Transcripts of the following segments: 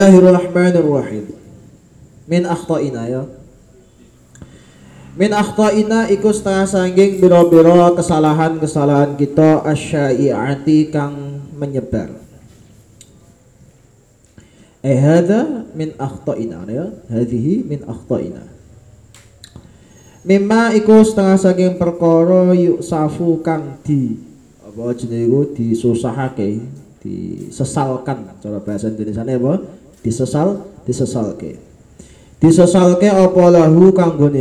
Bismillahirrahmanirrahim. Min akhta'ina ya. Min akhta'ina iku setengah sangging biro-biro kesalahan-kesalahan kita asyai'ati kang menyebar. Hadza min akhta'ina ya. Hadhihi min akhta'ina. Mimma iku setengah sangging perkara yuksafu kang di apa jenenge iku disusahake, disesalkan cara bahasa Indonesiane apa? Disesalke apa lahu kanggo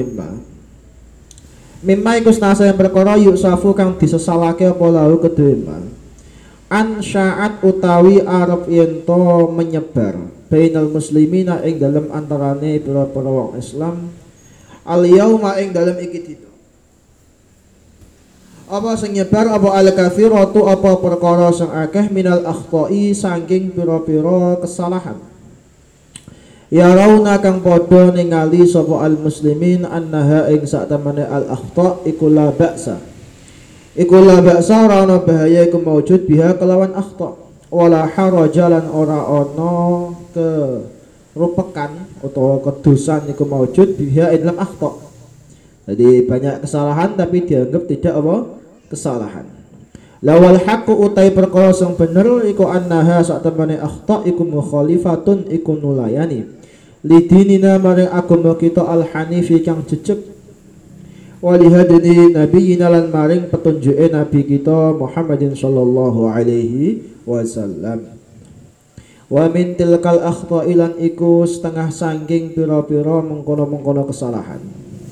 mimma iku setengah perkara yuksafu kang disesalake apa lahu kedue an sya'at utawi arep yento menyebar bainal muslimina ing dalem antarane pira-pira wong Islam al yauma ing dalem iki dina apa sing nyebar apa al kathiratu apa perkara sing akeh minal akhta'i saking pira-pira kesalahan. Ya rauna kang padha ningali sapa al muslimin annaha ing saktemene al akhta iku la ba'sa. Iku la ba'sa ora ana bahaya iku maujud biha kelawan akhta. Wala haraja lan ora ana kerupekan utawa kedosan iku maujud biha ing dalam akhta. Jadi banyak kesalahan tapi dianggap tidak apa? Kesalahan. Lawal haqqu utai perkara sing bener iku annaha saktemene akhta iku mukhalifatun iku nulayani. Lidinina maring agama kita al-hanifi kang jejeg walihadini nabiyina lan maring petunjuke nabi kita Muhammadin sallallahu alaihi wasallam wa min tilkal akhta'i lan iku setengah sangking pira-pira mengkono-mengkono kesalahan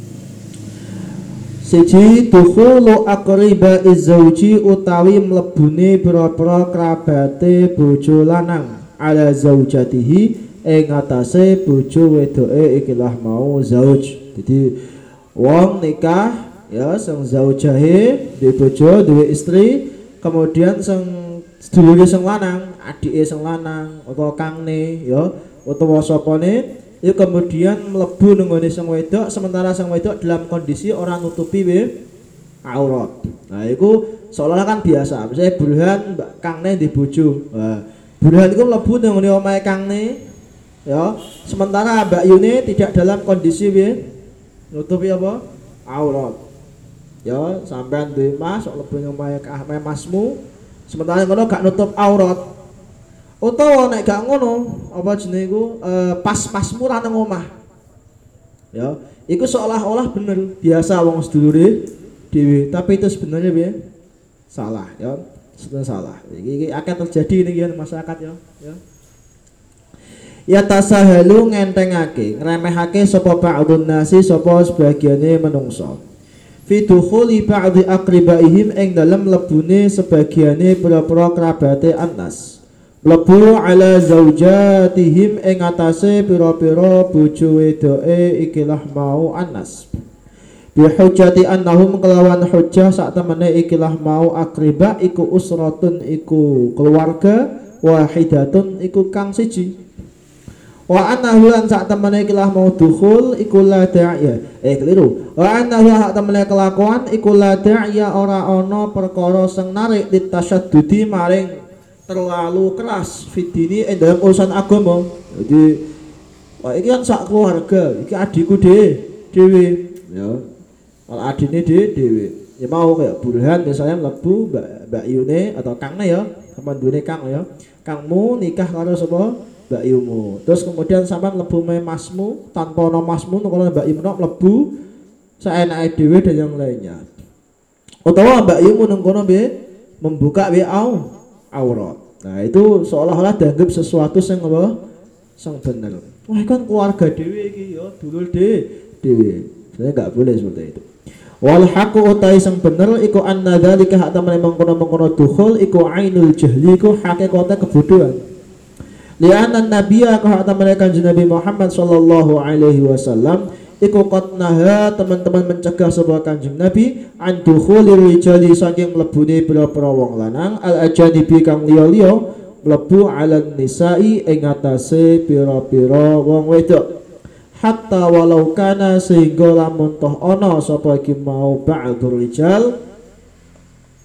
siji dukhulu aqriba izzauji utawi mlebune pira-pira kerabate bojo lanang ala zaujatihi ing atase bojo wedoke ikilah mau zauj. Jadi wong nikah ya sing zaujahe duwe bojo, duwe istri, kemudian sing sedulure sing lanang, adike sing lanang utawa kangne ya utawa sapane ya kemudian mlebu nggone sing wedok sementara sing wedok dalam kondisi ora nutupi aurat. Nah, iku seolah kan biasa. Misalnya Burhan kangne di bojo. Nah, Burhan iku mlebu nggone omahe kangne ya sementara Mbak Yuni tidak dalam kondisi nutupi apa aurat ya sampean duwe mas sok lebu omahe masmu sementara ngono gak nutup aurat utawa nek gak ngono apa jenenge iku pas masmu ra nang omah ya iku seolah-olah bener biasa wong sedulure dhewe tapi itu sebenarnya salah ya sebenarnya salah iki akan terjadi ini masyarakat ya ya tasahalu ngentengake ngremehake sapa ba'dun nasi sapa sebagiane menungso fi dukhuli ba'dhi aqribaihim ing dalem lebune sebagiane pira-pira kerabate annas lebu ala zaujatihim ing atase pira-pira bojo wedoke ikilah mau annas bi hujjati annahum kelawan hujjah sak temene ikilah mau aqriba iku usratun iku keluarga wahidatun iku kang siji wa annahu lan sak temene ikilah mau dukhul iku la da'iya keliru wa annahu sak temene kelakuan iku la da'iya ora ana perkara sing narik ditasyaddudi maring terlalu keras fidini dalam urusan agama. Jadi wah iki kan sak keluarga iki adikku dhewe ya kalau adine dhewe ya mau kayak Burhan misalnya mlebu Mbak Yune atau Kangne ya sama duwe Kang ya Kangmu nikah karo sapa Mbak Yumu. Terus kemudian sampean mlebu masmu tanpa ana masmu kalau Mbak Yumu mlebu saenake dhewe dan yang lainnya. Utawa Mbak Yumu nang kono membuka aurat. Nah, itu seolah-olah dianggap sesuatu sing apa? Sing bener. Wah, kan keluarga dhewe iki ya, dulur dhewe. Sebenarnya enggak boleh seperti itu. Wal haqqu utai sing bener iku anna dzalika hatta mengkono-mengkono dukhul iku ainul jahli iku hakikate kebodohan. Li'anna nabiyya ka hatta kanjeng Nabi Muhammad sallallahu alaihi wasallam iku qatnaha teman-teman mencegah sebuah kanjeng Nabi an dukhulir rijali saking mlebune pira-pira wong lanang al ajanibi kang liya-liya mlebu alan nisa'i ing atase pira-pira wong wedok hatta walau kana sehingga lamun toh ana sapa iki mau ba'dur rijal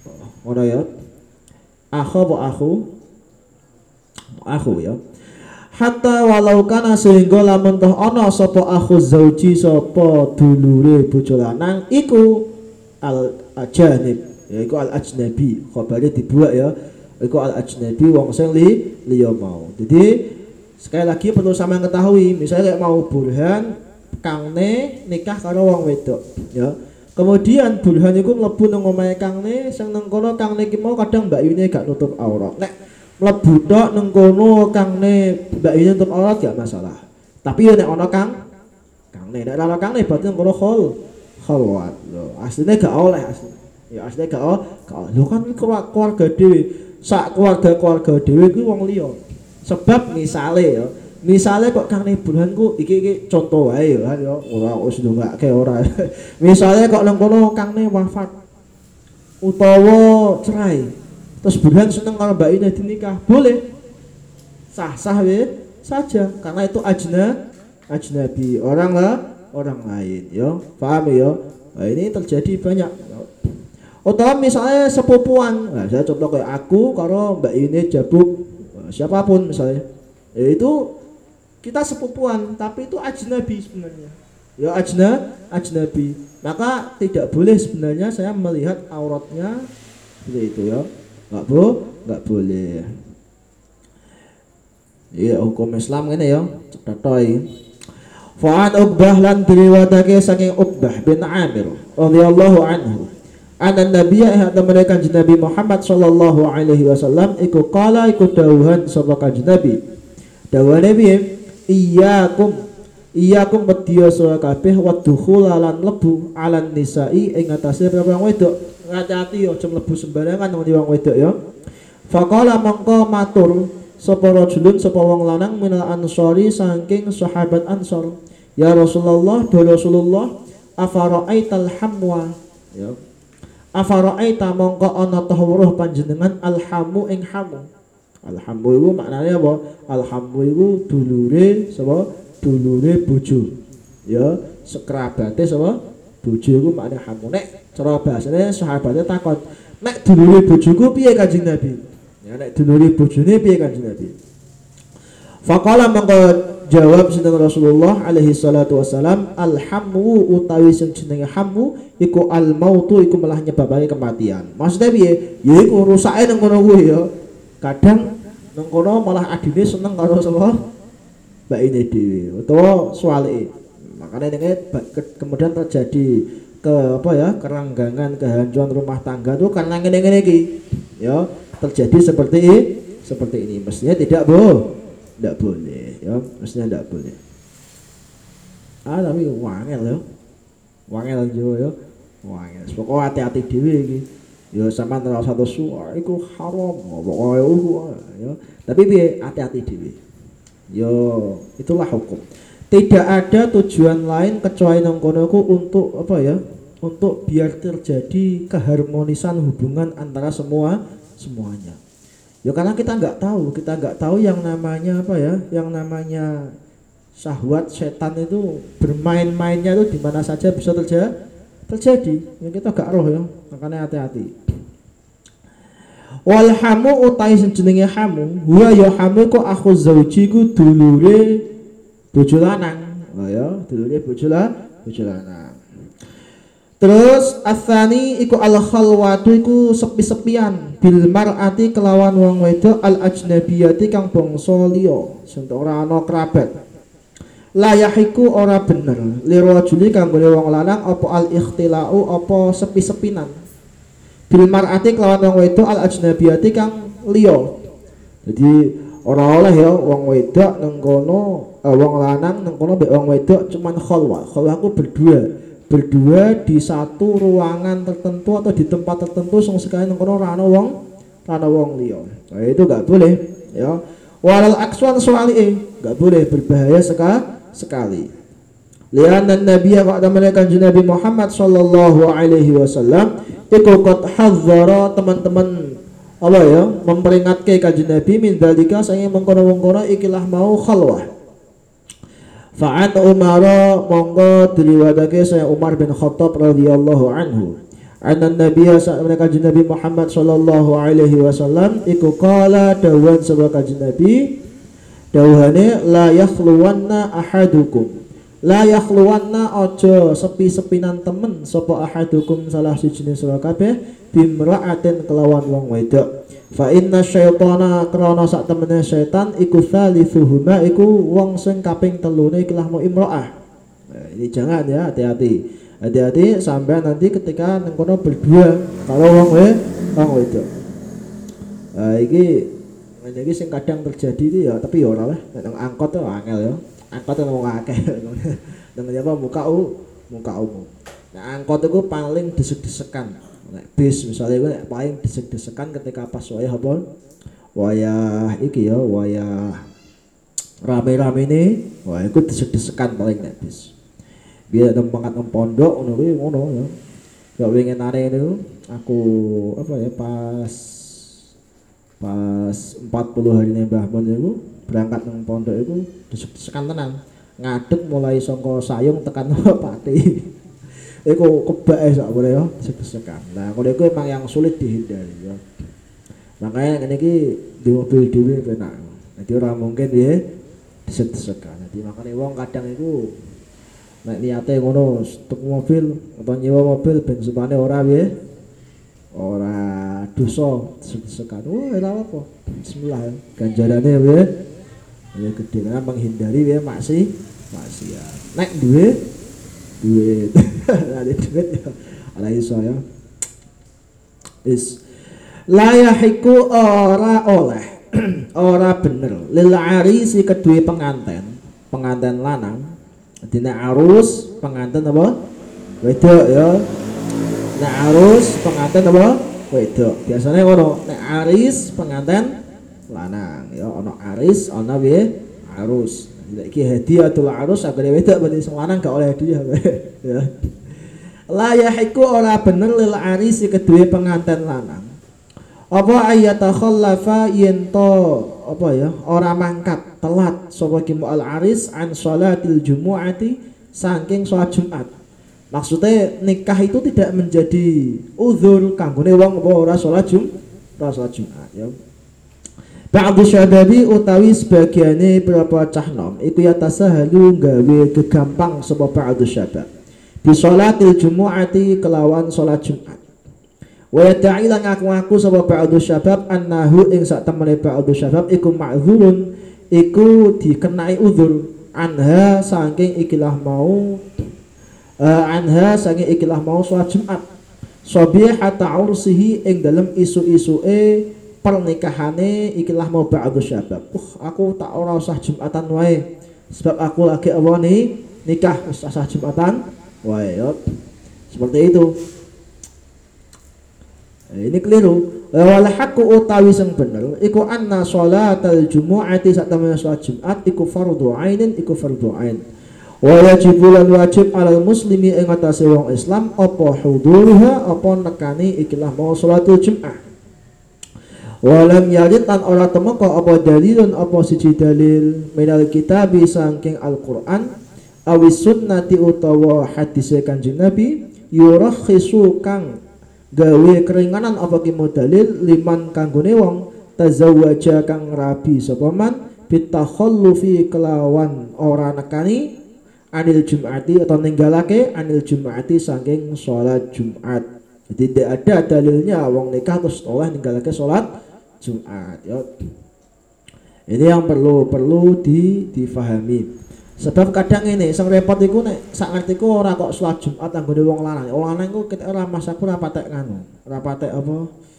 ana ya akhu ya hatta walau kana sehingga lamun toh ana sapa akhu zauji sapa dulure bojo lanang iku al ajanib yaiku al ajnabi khabare dibuat ya iku al ajnabi wong sing liya mau. Jadi sekali lagi perlu sampeyan ketahui misalnya kayak mau burhan kangne nikah karo wong wedok ya. Kemudian burhan iku mlebu nang omahe kangne sing nang kono kangne iki mau kadang mbakyune gak nutup aurat. Nek mlebu tok nang kono kangne mbakyune nutup aurat gak masalah. Tapi nek ana kangne nek ana kangne berarti nang kono khalwat. Lho, asline gak oleh asline. Ya asline gak oleh. Lho kan keluarga dhewe. Sak keluarga dhewe kuwi wong liya. Sebab misale kok kangne burhan ku iki contoh wae ya ora wis ndongake ora. Misale kok nang kono kangne wafat utawa cerai. Terus burhan seneng karo mbak ini dinikah, boleh. Sah-sah saja karena itu ajnabi, orang lain ya. Paham ya? Nah, ini terjadi banyak. Atau misalnya sepupuan. Nah, saya contoh kayak aku karo mbak ini jabuk siapapun misalnya. Ya itu kita sepupuan tapi itu ajnabi sebenarnya ya ajnabi maka tidak boleh sebenarnya saya melihat auratnya seperti itu ya nggak boleh ya hukum Islam ini ya cetotoi fa'an Uqbah lan diriwayatake saking Uqbah bin Amir radhiyallahu anhu anan nabiyya hadza mereka Nabi Muhammad sallallahu alaihi wasallam iku qala iku dawuhan sapa kanjeng Nabi dawane piye Iyakum wedya sira kabeh wadkhul lan mlebu alan nisa'i ing atase wong wedok. Hati-hati aja mlebu sembarangan wong wedok ya. Faqala mangko matur sapa rajulun sapa wong lanang minal ansori saking sahabat Ansor. Ya Rasulullah, do Rasulullah, afara'aital hamwa ya. Afara'aita mangko ana tahwuruh panjenengan alhamu ing hamu. Alhamu itu maknanya apa? Alhamu itu dulure sapa? Dulure bojo. Ya, sekerabate sapa? Bojo iku maknane hamu. Nek cara bahasane sahabate takon, nek dulure bojoku piye Kanjeng Nabi? Ya nek dulure bojone piye Kanjeng Nabi? Faqala mangko jawab sinten Rasulullah alaihi salatu wasalam, alhamu utawi sing jenenge hamu iku almautu iku malah nyebabake kematian. Maksudnya piye? Ya iku rusake nang kono kuwi ya. Kadang nang kono malah adine seneng karo sapa mbak ini dhewe utawa suwalike. Makanya ini kemudian terjadi keranggangan, kehancuran rumah tangga tuh karena ngene-ngene iki. Ya, terjadi seperti ini. Mestinya tidak boleh ya, mestinya tidak boleh. Tapi wangel ya. Wangel jo ya. Wangel. Pokoke hati-hati dhewe iki. Ya sampean ora satu suara iku haram pokoke ya. Tapi piye hati-hati dhewe. Ya itulah hukum. Tidak ada tujuan lain kecuali nang kono untuk untuk biar terjadi keharmonisan hubungan antara semuanya. Ya karena kita nggak tahu yang namanya yang namanya syahwat setan itu bermain-mainnya itu di mana saja bisa terjadi. Yang kita gak roh ya, makanya hati-hati. Wal hamu utai jenenge hamu, huwa ya hamu ku akhu zauji ku dulure bojo lanang. Oh ya, dulure bojo lanang. Terus atsani iku al khalwatu iku sepi-sepian bil mar'ati kelawan wong wedok al ajnabiyati kang bangsa liya, sing ora ana kerabat. Layahiku ora bener lirajuli kanggone wong lanang apa al ikhtilau apa sepi-sepinan bil mar'ati kelawan wong wedok al ajnabiyati kang liya. Jadi ora oleh ya wong wedok nang kono wong lanang nang kono mbek wong wedok cuman khalwah. Khalwah ku berdua di satu ruangan tertentu atau di tempat tertentu sing sekali nang kono ora ana wong liya. Nah, itu enggak boleh ya. Walal akswan suwali enggak boleh, berbahaya sekali. Lian dan Nabi wa mereka Nabi Muhammad sallallahu alaihi wasallam iku qad hadzara teman-teman Allah ya memperingatkan kanjeng Nabi min dalika saking mengkono-mengkono ikilah mau khalwah. Fa'an Umar monggo diriwayatake saya Umar bin Khattab radhiyallahu anhu. Anan Nabi mereka Nabi Muhammad sallallahu alaihi wasallam iku qala dawan sebab kanjeng Nabi Dawuhane la yakhluwanna ahadukum. La yakhluwanna aja sepi-sepinan temen sapa ahadukum salah sijine sira kabeh bimra'atin kelawan wong wedok. Fa inna syaitana krana sak temene setan iku thalithuhuma iku wong sing kaping telune ikilah mau imra'ah. Nah, ini jangan ya, hati-hati. Hati-hati sampai nanti ketika nang kono berdua kalau wong wedok. Iki sing kadang terjadi itu ya, tapi ya ora lah. Nang angkot tuh angel ya. Angkot itu wong akeh. Nang apa muka umum. Nah, angkot itu paling desek-desekan. Nek bis misalnya itu paling desek-desekan ketika pas wayah apa? Wayah iki ya, wayah rame-rame ini, wah iku desek-desekan paling nek bis. Biar tempat pondok ngono kuwi ngono ya. Ya winginane niku aku apa ya pas 40 hari Mbah Mun niku berangkat nang pondok iku desek-desekan tenan. Ngadeg mulai saka Sayung tekan Pati. Iku kebake sak boleh ya desek-desekan. Nah, kalau iku emang yang sulit dihindari ya. Makanya ngene iki di mobil dhewe penak. Jadi ora mungkin ya desek-desekan. Jadi makanya wong kadang iku nek niate ngono stuk mobil atau nyewa mobil ben supane ora piye ora dosa desek-desekan. Ora apa. Bismillah ya. Ganjarane piye? Ya gede kan menghindari piye maksiat. Nek duit ada duit ya ala iso ya. Is la yahiku ora oleh ora bener lil arisi kedue penganten lanang. Dina arus pengantin apa? Wedok ya. Nek arus pengantin apa? Wedok. Biasanya ngono. Nek aris pengantin lanang ya, ana aris, ana piye? Arus. Nek iki hadiatul arus agar wedok berarti sing lanang gak oleh hadiah ya. La yahiku ora bener lil arisi kedue pengantin lanang. Apa ayatakhallafa yento apa ya ora mangkat telat sapa ki al aris an sholatil jumu'ati saking sholat Jumat. Maksudnya nikah itu tidak menjadi uzur kanggone wong apa ora sholat Jumat ya. Ba'du syababi utawi sebagiane berapa cah nom iku ya tasahalu gawe gegampang sapa ba'du syabab bi sholatil jumu'ati kelawan sholat Jumat. Wa ta'ila ngaku-ngaku sapa ba'du syabab annahu ing sak temene ba'du syabab iku ma'dzurun iku dikenai uzur anha saking ikilah mau sholat Jumat sabihata ursihi ing dalem isu-isuke pernikahane ikilah mau ba'du syabab. Aku tak ora usah Jumatan wae sebab aku lagi awani nikah wis usah Jumatan wae ya. Seperti itu. Ini keliru. Wal haqqu utawi sing bener iku anna sholatal jumu'ati sak temene salat Jumat iku fardhu ainin iku fardhu ain. Wa wajibu lan wajib alal muslimi ing atase wong Islam apa hudurha apa nekani ikilah mau salatul Jumat. Walam yarid lan ora temeka apa dalilun apa siji dalil minal kitabi saking Al-Qur'an awis sunnati utawa hadise Kanjeng Nabi yurakhisu kang gawe keringanan apa ki dalil liman kanggone wong tazawwaja kang rabi sapa man bitakhallufi kelawan ora nekani anil jum'ati atau ninggalake anil jum'ati saking salat Jumat. Jadi tidak ada dalilnya wong nikah terus oleh ninggalake salat Jumat ya. Ini yang perlu difahami. Sebab kadang ini sing repot iku nek sak ngertiku ora kok salat Jumat anggone wong lanang. Wong lanang iku ketek ora masaku ora patek nganu. Ora patek apa?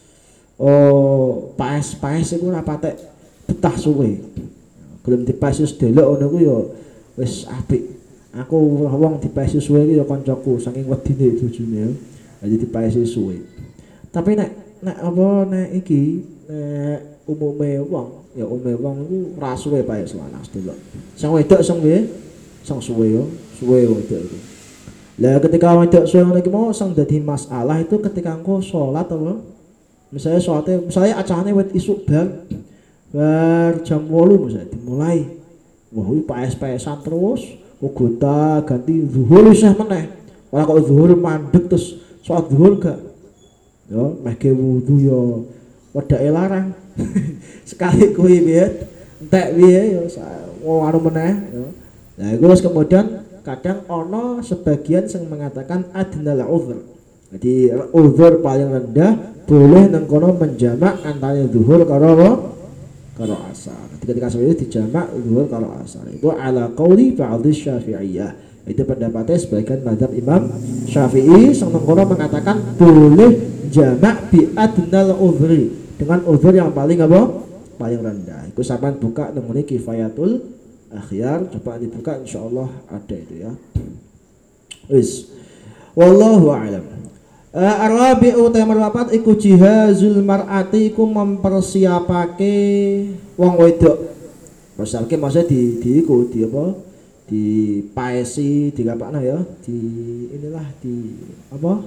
Paes iku ora patek betah suwe. Gelem dipaes delok ngono ku ya wis apik. Aku wong dipaes suwe iki ya kancaku saking wedine bojone ya. Jadi dipaes suwe. Tapi nek iki nek umume wong ya wong iku ora suwe paes lanang delok. Sing wedok sing piye? Sing suwe yo, suwe wedok iku. Lah ketika wedok suwe ngene iki mau sing dadi masalah itu ketika engko salat apa? Misalnya acarane wit isuk bar jam 8 misalnya dimulai. Wah, iki paes-paesan terus, gonta ganti zuhur isih meneh. Ora kok zuhur mandeg terus salat zuhur gak. Yo, meh wudu yo wedake larang. Sekali kuwi piye entek piye ya anu meneh ya. Nah iku terus kemudian kadang ono sebagian yang mengatakan adnal uzur. Jadi uzur paling rendah boleh nang kono menjamak antara zuhur karo asar. Ketika seperti itu dijamak zuhur karo asar. Itu ala qauli ba'd Syafi'iyah. Itu pendapatnya sebagian mazhab Imam Syafi'i yang nang kono mengatakan boleh jamak bi adnal uzri dengan uzur yang paling apa? Paling rendah. Iku sampean buka nemune Kifayatul Akhyar, coba dibuka insyaallah ada itu ya. Wis. Wallahu a'lam. Arabi'u tamar papat iku jihazul mar'ati iku mempersiapake wong wedok. Maksudnya maksudnya di apa? Di paesi, di kapakna ya, di inilah di apa?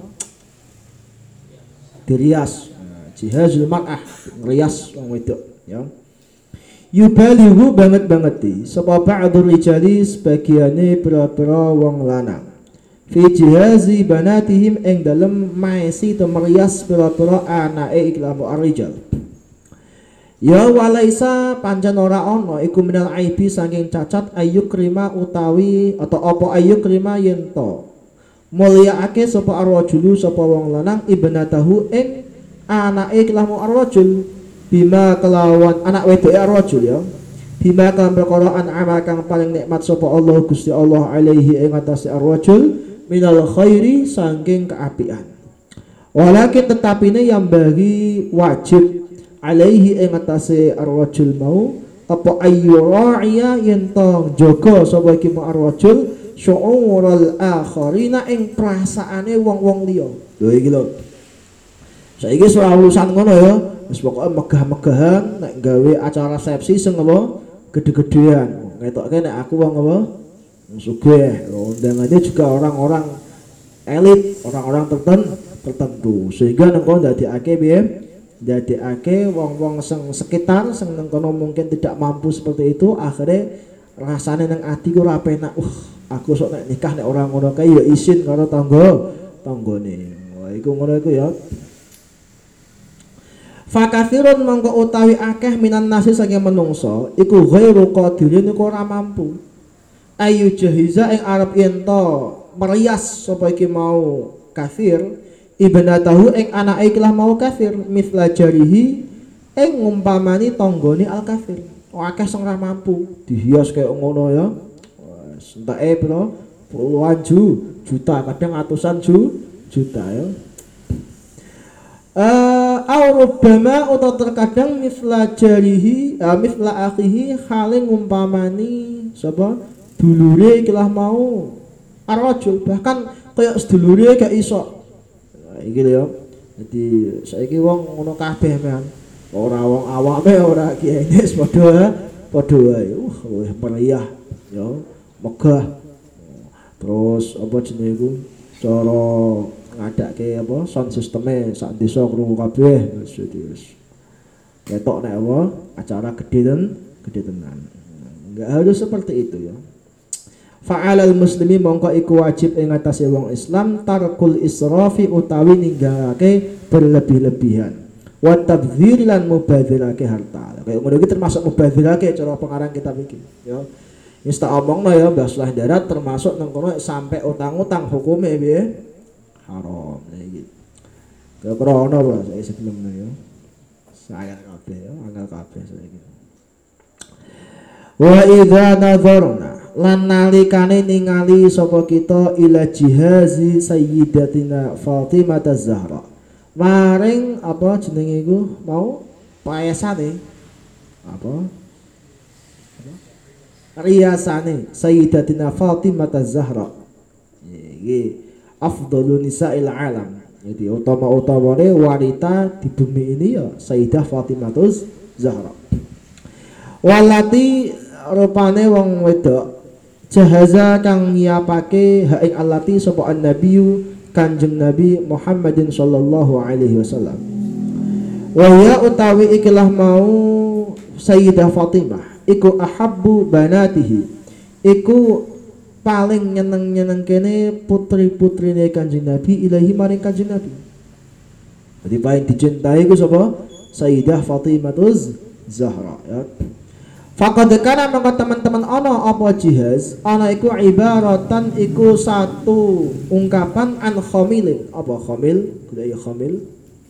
Dirias. Jihazul mar'ah, ngrias wong wedok ya. Yubalihu banget sapa ba'dur rijali sebagiane pira-pira wong lanang fi jihazi banatihim ing dalem maesi to merias pira-pira anake iklamu ar-rijal. Ya walaisa pancen ora ana iku minal aibi saking cacat ayyukrima utawi atau apa ayyukrima yen to mulyaake sapa ar-rajulu sapa wong lanang ibnatahu ing anake iklamu ar-rajul bima kelawan anak wedok ar-rajul ya bima kelawan perkara an'ama kang paling nikmat sapa Allah Gusti Allah alaihi ing atase ar-rajul minal khairi saking keapian walakin tetapine yang bagi wajib alaihi ing atase ar-rajul mau apa ayyura'iya yen tong jaga sapa iki ar-rajul syu'ural akharina ing perasaane wong-wong liya lho iki lho saiki ora urusan ngono ya. Wis pokoke megah-megahan nek gawe acara resepsi sing apa gede-gedean. Ngetokke nek aku wong apa sugih. Undangannya juga orang-orang elit, orang-orang tertentu. Sehingga nang kono ndadekake piye? Ndadekake wong-wong sing sekitar sing nang kono mungkin tidak mampu seperti itu, akhirnya rasane nang ati ku ora penak. Aku sok nek nikah nek orang ngono kae ya isin karo tanggane. Wah iku ngono iku ya. Fakathirun mongko utawi akeh minan nasi saking menungso iku ghairu qadirin iku ora mampu ayu jahiza ing arep yen to merias sapa iki mau kafir ibnatahu ing anake ikilah mau kafir mithla jarihi ing ngumpamani tanggane al kafir akeh sing ora mampu dihias kaya ngono ya wis entake pira puluhan juta kadang atusan juta ya. Aurubama atau terkadang misla jarihi misla akhihi hale ngumpamani sapa dulure ikilah mau ar-rajul bahkan kaya sedulure gak iso iki lho ya dadi saiki wong ngono kabeh men ora wong awake ora kiye padha wae meriah ya megah terus apa jenenge iku cara ngadake apa sound sisteme sak desa krungu kabeh wis ketok nek apa acara gede tenan enggak harus seperti itu ya fa'alal muslimi mongko iku wajib ing atase wong Islam tarkul israfi utawi ninggalake berlebih-lebihan wa tabdzir lan mubadzirake harta kayak ngono iki termasuk mubadzirake cara pengarang kitab iki ya wis tak omongno ya bahas darat termasuk nang kono sampai utang-utang hukume piye haram iki. Keprono Bro, saya sebelumnya ya. Saya angel kabeh saiki. Wa idza nazarna lan nalikane ningali sapa kita ila jihazi sayyidatina Fatimah Az-Zahra. Maring apa jenenge iku mau paesane apa? Riasane sayyidatina Fatimah Az-Zahra. Iki afdhalun nisa'il alam. Jadi utama-utamane wanita di bumi ini ya Sayyidah Fatimah Zahra. Walati rupane wong wedok jahaza kang nyiapake ha ing allati sapa an-nabiyyu Kanjeng Nabi Muhammadin sallallahu alaihi wasallam. Wa ya utawi ikilah mau Sayyidah Fatimah iku ahabbu banatihi iku paling nyeneng kene putri-putrine Kanjeng Nabi ilahi maring Kanjeng Nabi. Jadi paling dicintai ku sapa? Sayyidah Fatimah Zahra ya. Faqad kana mangko teman-teman ana apa jihaz ana iku ibaratan iku satu ungkapan an khamilin apa khamil kudu khamil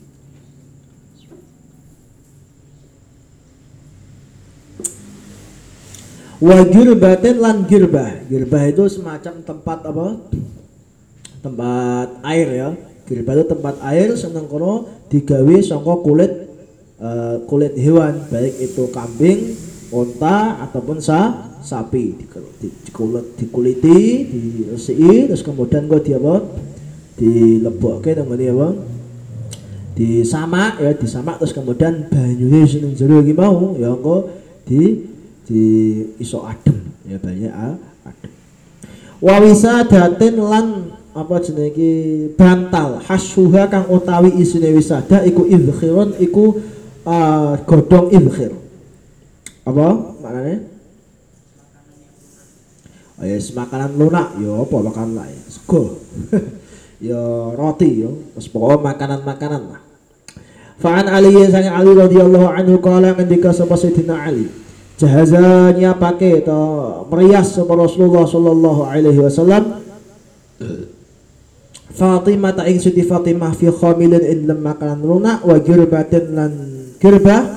wa girbatin lan girbah itu semacam tempat apa tempat air ya girbah itu tempat air seneng kono digawe saka kulit hewan baik itu kambing unta ataupun sapi dikuliti diresiki terus kemudian kok dilebokke nang apa disamak terus kemudian banyune sing jero iki mau ya engko di iso adem ya banyak adem wa wisadatin lan apa jenenge iki bantal hasyuha kang utawi isine wisada iku idkhirun iku godhong idkhir apa maknanya yes makanan lunak ya apa makanan lain sego ya roti ya terus pokoknya makanan lah fa'an Ali sang Ali radhiyallahu anhu qala ngendika sapa Sayyidina Ali jahazanya pakai atau merias sapa Rasulullah sallallahu alaihi wasallam Fatimah ta ing Siti Fatimah fi khamilin in lam makanan lunak wa girbatin lan girbah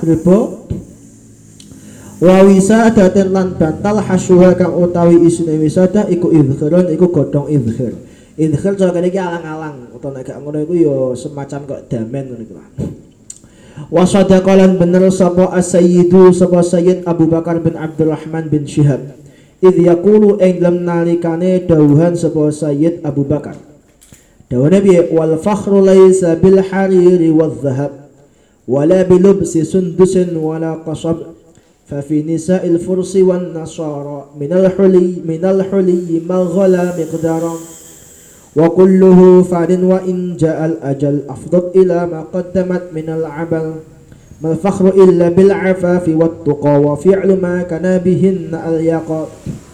wa wisadatin lan bantal hasyuha kang utawi isine wisada iku idkhirun iku godhong idkhir cara kene iki alang-alang utawa nek gak ngono iku ya semacam kok damen ngono iku wa sadaqalan bener sapa as-sayyidu sapa sayyid Abu Bakar bin Abdurrahman bin Syihab idh yaqulu ing lam nalikane dawuhan sapa sayyid Abu Bakar dawuhane piye wal fakhru laysa bil hariri wadh dhahab wala bilubsi sundusin wala qasab ففي نساء الفرس والنصارى من الحلي ما غلا مقدارا وكله فعل وإن جاء الأجل أفضل إلى ما قدمت من العمل ما الفخر إلا بالعفاف والتقى وفعل ما كان بهن اليقى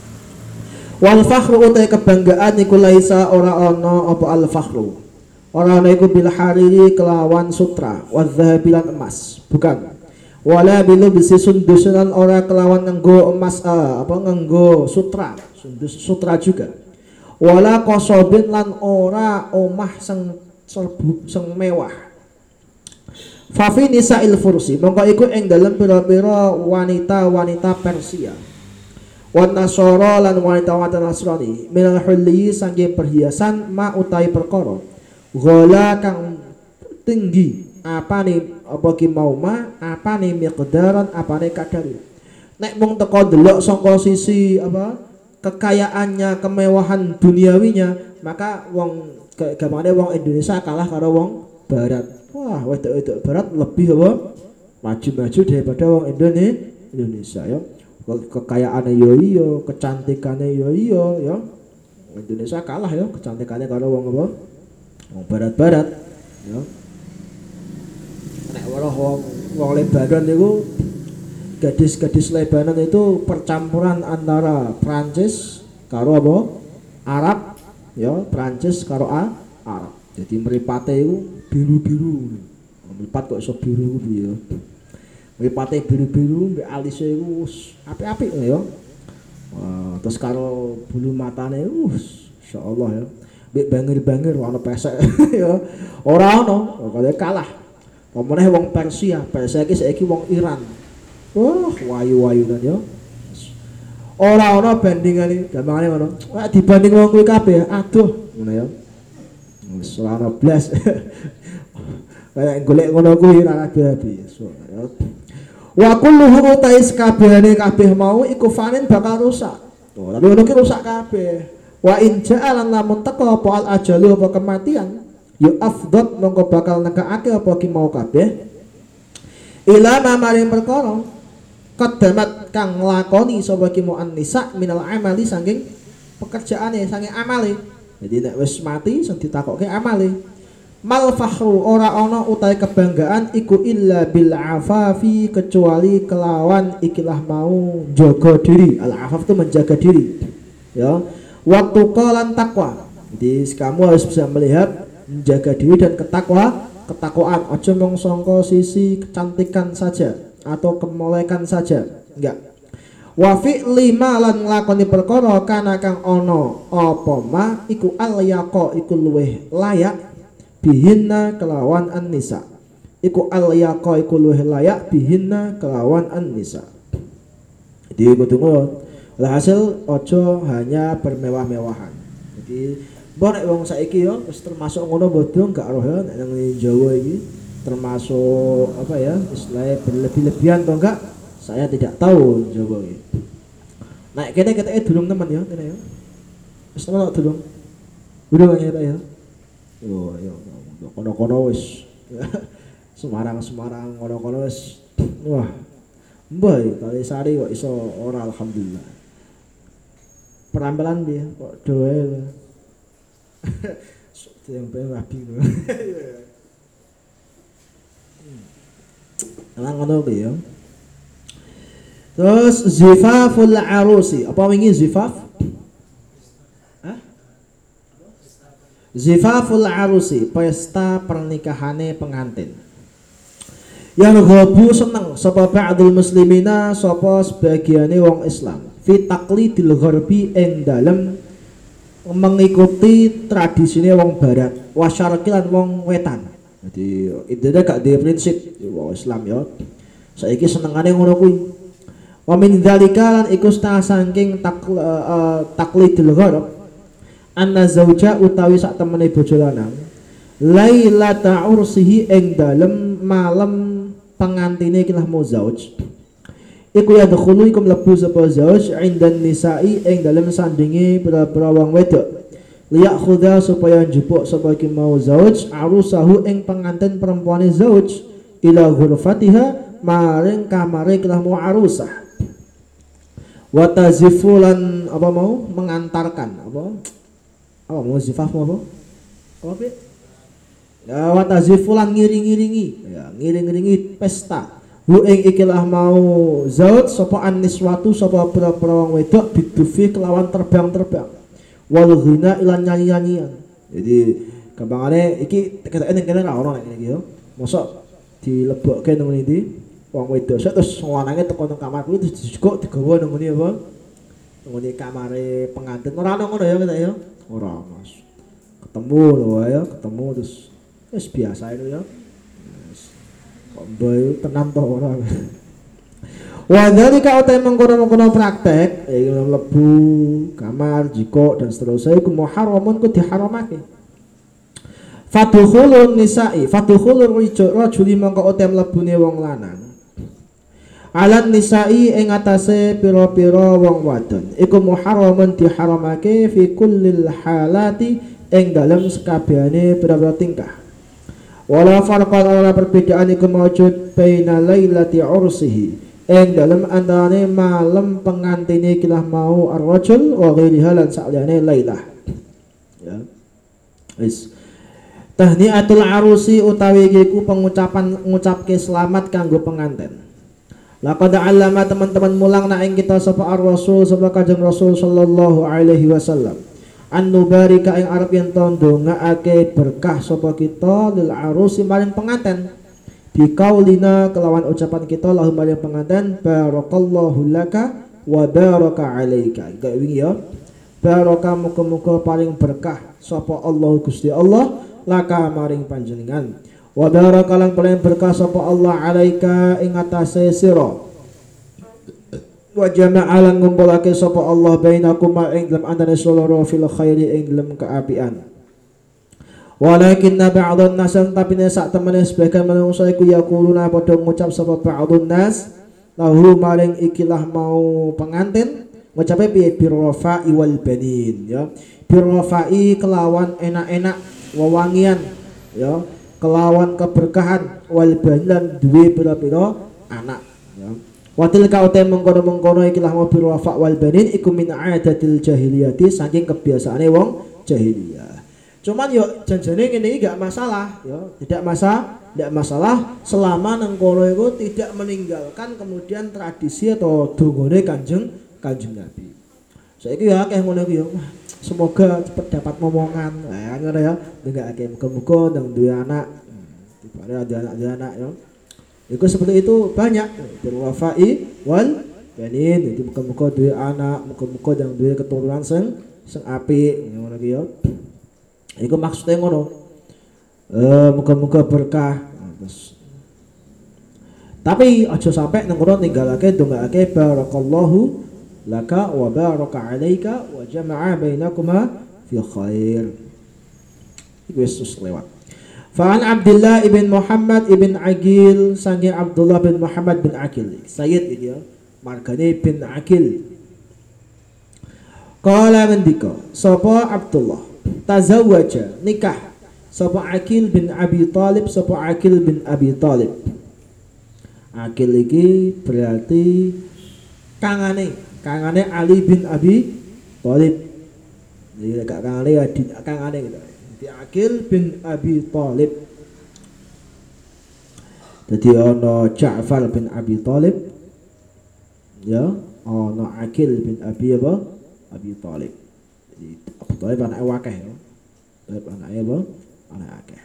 والفخر utai kebanggaan iku laisa ora ana apa al fakhru ora ana iku bil hariri kelawan sutra wa dzahabilan emas bukan wala bilubsi sundusan ora kelawan nganggo emas nganggo sutra sutra juga wala qasobin lan ora omah sing serbu sing mewah fa fi nisa'il fursi mongko iku ing dalem pira-pira wanita Persia wan nasara lan wanita Nasrani minal hulli saking perhiasan ma utai perkara ghala kang tinggi apane apa ki mau apane miqdaran apane kadar nek mung teko delok saka sisi apa kekayaannya kemewahan duniawinya maka wong gamane wong Indonesia kalah karo wong barat wah wedok barat lebih apa maju daripada wong Indonesia ya kekayaane yo iya kecantikane yo iya ya Indonesia kalah ya kecantikane karo wong apa wong barat ya nek wong Lebanon itu gadis-gadis Lebanon itu percampuran antara Prancis karo apa Arab ya Prancis karo Arab jadi mripate itu biru-biru mripat kok iso biru piye mripate biru-biru mbek alise iku apik-apik ya terus karo bulu matane insyaallah ya mbek bangir-bangir ana pesek ya ora ono kaya kalah pemeneh wong Persia iki saiki wong Iran. Wah, wayu-wayunan ya. Ora ana bandingane, gampangane ngono. Wah, dibanding wong kuwi kabeh, aduh, ngono ya. Wis ora ana blas. Kayak golek ngono kuwi ora rabi-rabi. Wa kulluhu tais kabehane kabeh mau iku fanin bakal rusak. Tuh, tapi ngono ki rusak kabeh. Wa in ja'alan lamun teko apa al ajalu apa kematian yu afdot mongko bakal nekake apa ki mau kabeh ila maring perkara qaddamat kang nglakoni sapa ki mau an-nisa minal amali saking pekerjaane saking amale jadi nek wis mati sing ditakokke amale mal fakhru ora ana utahe kebanggaan iku illa bil afafi kecuali kelawan ikilah mau jaga diri al afaf itu menjaga diri ya waktu qalan takwa jadi kamu harus bisa melihat menjaga diri dan ketakwaan aja mung sangka sisi kecantikan saja atau kemolekan saja enggak Wa fi'li ma lan nglakoni perkara kana kang ana apa ma iku al yaqa iku luweh layak bihinna kelawan an-nisa. Iku al yaqa iku luweh layak bihinna kelawan an-nisa. Jadi kudu ngono. Hasil ojo hanya bermewah-mewahan. Jadi bonek wong saiki yo wis termasuk ngono bodho gak roh ya nang Jawa iki termasuk apa ya istilahnya berlebih-lebihan atau enggak saya tidak tahu Jawa iki. Nek kene keteke durung temen ya kene ya. Wis temen durung. Durung ya ya. Yo kono-kono wis Semarang kono-kono wis wah. Mbah kali sari kok iso ora alhamdulillah. Perambelan piye kok doe. Yang pengen rapi lho. Emang ngono piye ya. Terus zifaful arusi. Apa wingi zifaf? Hah? Zifaful arusi, pesta pernikahane pengantin. Yang ghabu seneng sapa ba'dul muslimina sapa sebagiane wong Islam fi taqlidil gharbi ing dalem mengikuti tradisine wong barat wasyarqilan wong wetan. Jadi intine gak duwe prinsip wong Islam ya. Saiki senengane ngono kuwi. Wa min dzalika lan iku saking taqlidil gharb anna zauja utawi sak temene bojo lanang lailata ursihi ing dalem malam pengantine ikilah mau zauj iku ya dakhulu iku mlebu sapa zauj indan nisa'i ing dalem sandinge pira-pira wong wedok liyak khuda supaya njupuk sapa iki mau zauj arusahu ing pengantin perempuane zauj ila ghurfatiha maring kamare ikilah mau arusah wa tazifulan apa mau mengantarkan apa mau zifaf apa Pi? Ya wa tazifulan ngiring-ngiringi ya ngiring-ngiringi pesta hu ing ikilah mau zauj sapa anniswatu sapa pira-pira wong wedok bidufi kelawan terbang-terbang wal ghina ilan nyanyi-nyanyian. Jadi gampangane iki keteke ning kene ra ono nek iki yo. Mosok dilebokke nang ndi wong wedok terus lanange teko nang kamar kuwi terus dijukuk digawa nang ngene apa? Nang ngene kamare pengantin. Ora ono ngono ya keteke yo. Ora, Mas. Ketemu lho ya, ketemu terus wis biasa itu ya. Kok mboyo tenan to ora. Wa dzalika uta mengkono-mengkono praktek iki mlebu kamar jiko dan seterusnya iku muharramun ku diharamake. Fadkhulun nisa'i fadkhulur rajuli mangko uta mlebune wong lanang. Alan nisa'i ing atase pira-pira wong wadon iku muharramun diharamake fi kullil halati ing dalem sekabehane pira-pira tingkah. Wala farqan ora perbedaan iku maujud baina lailati ursihi ing dalem antarane malam pengantine kilah mau ar-rajul wa ghairiha lan saliyane lailah. Ya. Wis. Tahniatul arusi utawi iku pengucapan ngucapke selamat kanggo pengantin. Laqad 'allama teman-teman mulang nak ing kita sapa ar-rasul sapa Kanjeng Rasul sallallahu alaihi wasallam. An-nubarika ing arep yen ndongaake berkah sapa kita lil arusi maring pengantin. Bikaulina kelawan ucapan kita lahu maring pengantin barakallahu laka wa baraka alaika. Gak wingi ya. Baraka muga-muga paling berkah sapa Allah Gusti Allah laka maring panjenengan. Wa baraka lan paling berkah sapa Allah alaika ing atase sira. Wa jama'a lan ngumpulake sapa Allah bainakum ing dalam antane saloro fil khairi ing dalam keapian. Walakinna ba'dhan nas tapi sak temene sebagian manungsa iku yaquluna padha ngucap sapa ba'dhan nas lahu maring ikilah mau pengantin ngucape piye birrafa'i wal banin ya birrafa'i kelawan enak-enak wewangian ya kelawan keberkahan wal banin duwe pira-pira anak ya watil ka utem mengkono-mengkono ikilah mau birrafa' wal banin iku min adatil jahiliyati saking kebiasaane wong jahiliyah. Cuman yo janjane ngene iki gak masalah yo, tidak masalah selama nang kono iku tidak meninggalkan kemudian tradisi atau dongane Kanjeng Nabi. Saiki ya akeh ngono iki yo. Semoga cepat dapat momongan. Nah, ngono ya. Ndengake muga-muga nang duwe anak. Dibare ada anak yo. Iku seperti itu banyak berwafa'i wal banin dadi muga-muga duwe anak, muga-muga yang duwe keturunan sing apik ngono ki ya. Iku maksude ngono. Muga-muga berkah. Terus tapi aja sampai nang kono ninggalake ndongaake barakallahu laka wa baraka alaika wa jama'a bainakuma fi khair. Iku wis lewat. Fa'an Abdullah ibn Muhammad ibn Aqil sange Abdullah bin Muhammad bin Aqil. Sayyid iki ya, margane bin Aqil. Qala mendika, sapa Abdullah tazawwaja nikah sapa Aqil bin Abi Thalib, sapa Aqil bin Abi Thalib. Aqil iki berarti kangane Ali bin Abi Thalib. Jadi gak kangane gitu. Di Aqil bin Abi Thalib. Jadi ana Ja'far bin Abi Thalib. Ya, ana Aqil bin Abi Thalib. Jadi Abu Thalib anake akeh ya. Thalib anake anak akeh.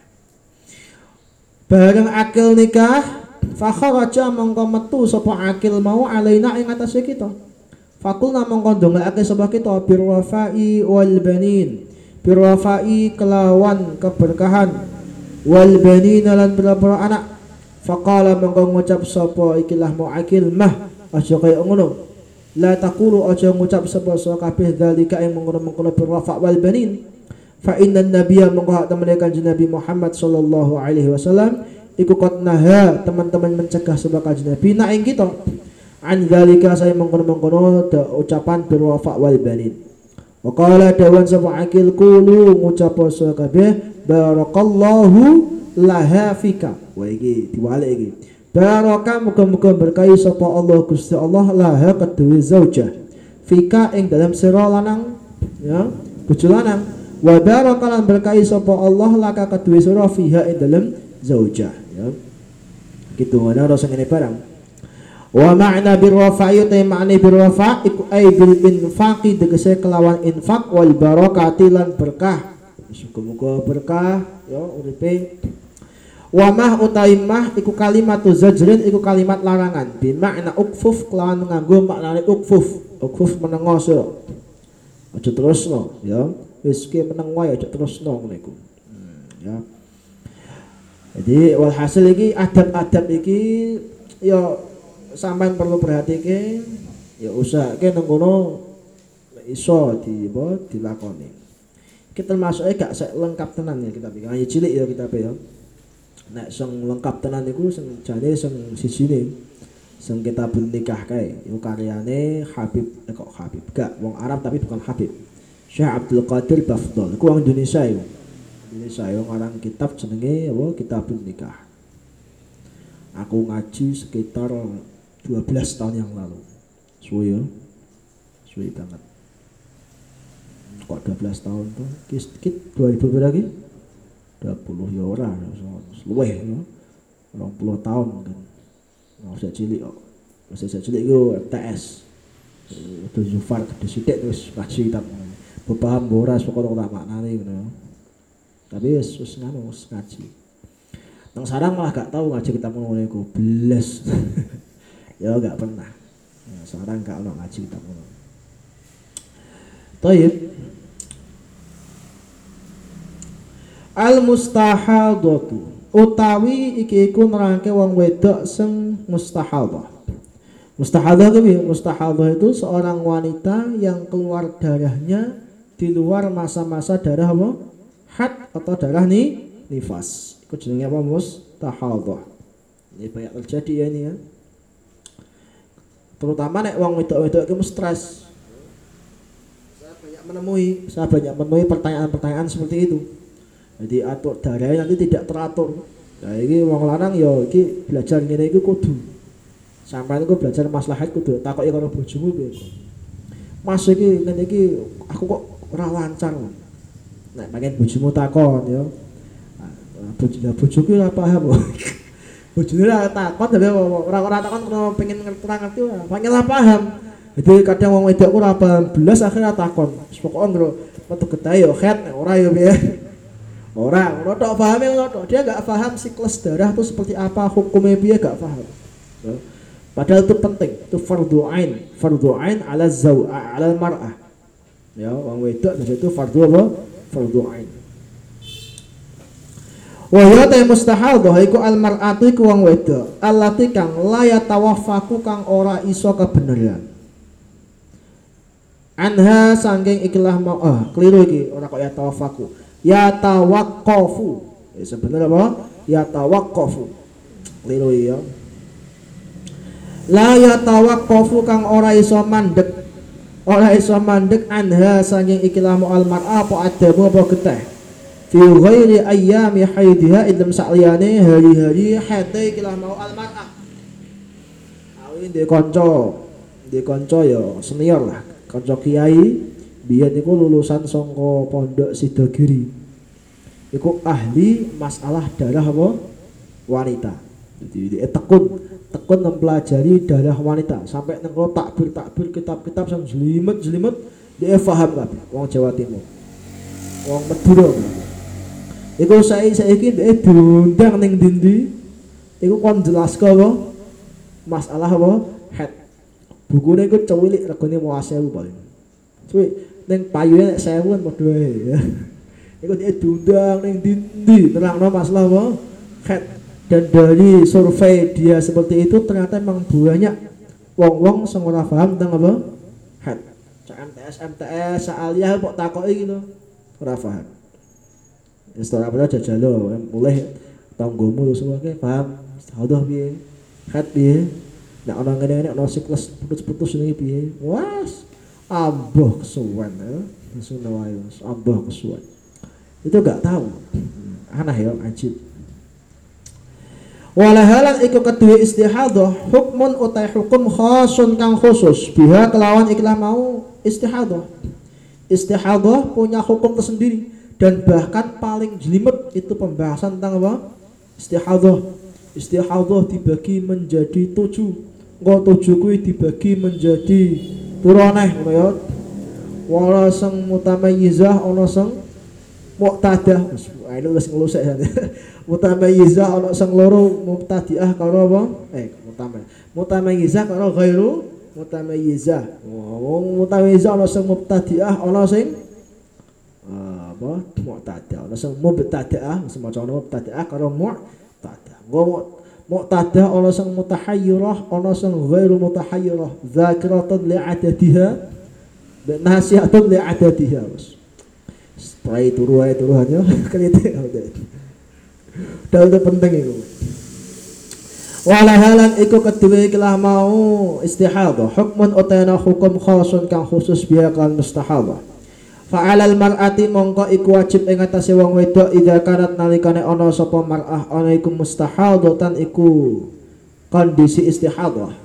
Bareng Aqil nikah fa kharaja mongko metu sapa Aqil mau alaina ing atase kita. Fakulna mongko ndongakake sapa kita birwafai wal banin. Birwafai kelawan keberkahan wal banin lan boro anak. Faqala mongko ngucap sapa ikilah mau Aqil mah aja kaya ngono. La taqulu aja ngucap sapa kabeh dalika ing mengkono-mengkono birwafa wal banin. Fa inna nabiyya mongko temene kanjeng Nabi Muhammad sallallahu alaihi wasallam iku qad naha teman-teman mencegah sapa kanjeng Nabi nak ing kita an zalika saya mengkono-mengkono ucapan birwafa wal banin. Wa qala dawan sapa Aqil qulu ngucap sapa kabeh barakallahu laha fika. Wa iki diwalik iki. Baraka muga-muga berkahi sapa Allah Gusti Allah laha kedue zaujah fika ing dalam sira lanang ya bojo lanang. Wa barakalan berkahi sapa Allah laka kedue sira fiha ing dalam zaujah ya. Gitu ana rasa ngene barang. Wa ma'na birwafa'i ta ma'ni birwafa' iku ai bil infaqi tegese kelawan infak wal barakati lan berkah. Muga-muga berkah ya uripe. Wa mah utaimah iku kalimatu zajrin iku kalimat larangan bi makna ukfuf kelawan nganggo maknane ukfuf. Ukfuf menengo sira. Aja terusno ya. Wis ki meneng wae aja terusno ngono iku. Ya. Jadi walhasil iki adab-adab iki ya sampean perlu perhatike ya usahake nang kono iso dilakoni. Kita termasuk gak sek lengkap tenan ya kita pikir. Ya cilik ya kita ya. Nek sing lengkap tenan iku sing jane sing sijine sing kitabun nikah kae iku karyane Habib kok Habib gak wong Arab tapi bukan Habib. Syekh Abdul Qadir Bafdal iku wong Indonesia iku. Indonesia yo ngarang kitab jenenge apa Kitabun Nikah. Aku ngaji sekitar 12 tahun yang lalu. Suwe ya. Suwe banget. Kok 12 tahun tuh? Kit 2000 berapa lagi? 20 ya ora, luweh ya. 20 tahun kan. Ora cilik kok. Masih cilik iku TS. Itu Zufar gede sithik terus ngaji kitab. Paham ora pokoke ora maknane ngono. Tapi wis nganu ngaji. Nang sarang malah gak tahu ngaji kitab ngono iku. Beles. Ya gak pernah. Ya, sarang gak ono ngaji kitab ngono. Thayyib. Al mustahadatu utawi iki iku nerangke wong wedok sing mustahadah. Mustahadah kuwi mustahadah itu seorang wanita yang keluar darahnya di luar masa-masa darah apa? Had atau darah nifas. Itu jenenge apa? Mustahadah. Ini banyak terjadi ya ini ya. Terutama nek wong wedok-wedok iki stres. Saya banyak menemui pertanyaan-pertanyaan seperti itu. Jadi atur darahnya nanti tidak teratur. Nah ini wong lanang ya iki belajar ngene iku kudu. Sampeyan iku belajar maslahat kudu takoki karo bojomu piye kok. Mas iki ngene iki aku kok ora lancar. Nek pengen bojomu takon ya. Bojoku ora paham. Bojone ora takon tapi ora takon kena pengen ngerti ora. Pengen ora paham. Jadi kadang wong wedok ora paham belas akhirnya takon. Pokoke ngro metu getahe ya khet ora ya piye. Ora tok pahame ngono tok. Dia enggak paham siklus darah itu seperti apa, hukumnya piye enggak paham. Padahal itu penting, itu fardhu ain ala ala mar'ah. Ya, wong wedok itu fardhu apa? Fardhu ain. Wa ya ta mustahadhah iku al mar'atu iku wong wedok, allati kang la yatawaffaku kang ora iso kebeneran. Anha sangking ikilah mau keliru iki ora kok yatawaffaku. Yatawaqqafu. Sebenarnya apa? Yatawaqqafu. Keliru ya. La yatawaqqafu kang ora iso mandek. Ora iso mandek anha sangking ikilah mau al mar'a apa adamu apa geteh. Fi ghairi ayyami haidiha idam sa'liyane hari-hari haidhe ikilah mau al mar'a. Awi ndek kanca ya senior lah. Kanca kiai biyen niku lulusan saka Pondok Sidogiri. Iku ahli masalah darah apa? Wanita. Jadi tekun mempelajari darah wanita sampai nengko takbir kitab-kitab sang jelimet dia paham kabeh wong Jawa Timur. Wong Madura. Iku saiki dia diundang ning ndi iku kon jelaske apa? Masalah apa? Head. Bukune iku cuwilik regane 10.000 paling. Cuwi ning payune nek 1000 kan padha ae ya. Iku dia diundang ning ndi nerangno masalah apa? Head. Dan dari survei dia seperti itu ternyata memang banyak wong-wong sing ora paham tentang apa? Head. MTS, aliyah kok takoki gitu. Ora paham. Wis ora pernah jajalo, mulai tanggomu semua ke paham. Hadoh piye? Head piye? Nek ana ngene-ngene ana siklus putus-putus niki piye? Wes ambuh kesuwen ya. Sunah wae ambuh kesuwen. Itu enggak tahu. Aneh ya, ajib. Walahalan iku kedua istihadhah hukmun utai hukum khasun kang khusus biha kelawan ikhlah mau istihadhah. Istihadhah punya hukum tersendiri dan bahkan paling jelimet itu pembahasan tentang apa? Istihadhah. Istihadhah dibagi menjadi 7. Engko 7 kuwi dibagi menjadi turoneh ngono ya. Wala sing mutamayyizah ana sing muqtadah. Ini wis ngelusek ya. Mutamayyizah ana sing loro mubtadi'ah karo apa? Mutamayyizah karo ghairu mutamayyizah. Wong mutamayyizah ana sing mubtadi'ah ana sing apa? Muqtadah. Ana sing mubtadi'ah, semaca ana mubtadi'ah karo muqtadah. Muqtadah ana sing mutahayyirah, ana sing ghairu mutahayyirah. Dzakiratun li'adadiha dan nasihatun li'adadiha. Setelah turuhannya kritik dan itu penting itu. Walahalan iku kedua ikilah mau istihadhah hukmun utana hukum khasun kang khusus biha kan mustahadah. Fa'alal mar'ati mongko iku wajib ing atase wong wedok idza kanat nalikane ana sapa mar'ah ana iku mustahadatan iku kondisi istihadhah.